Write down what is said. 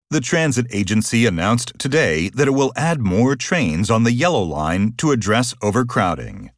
The transit agency announced today that it will add more trains on the Yellow Line to address overcrowding.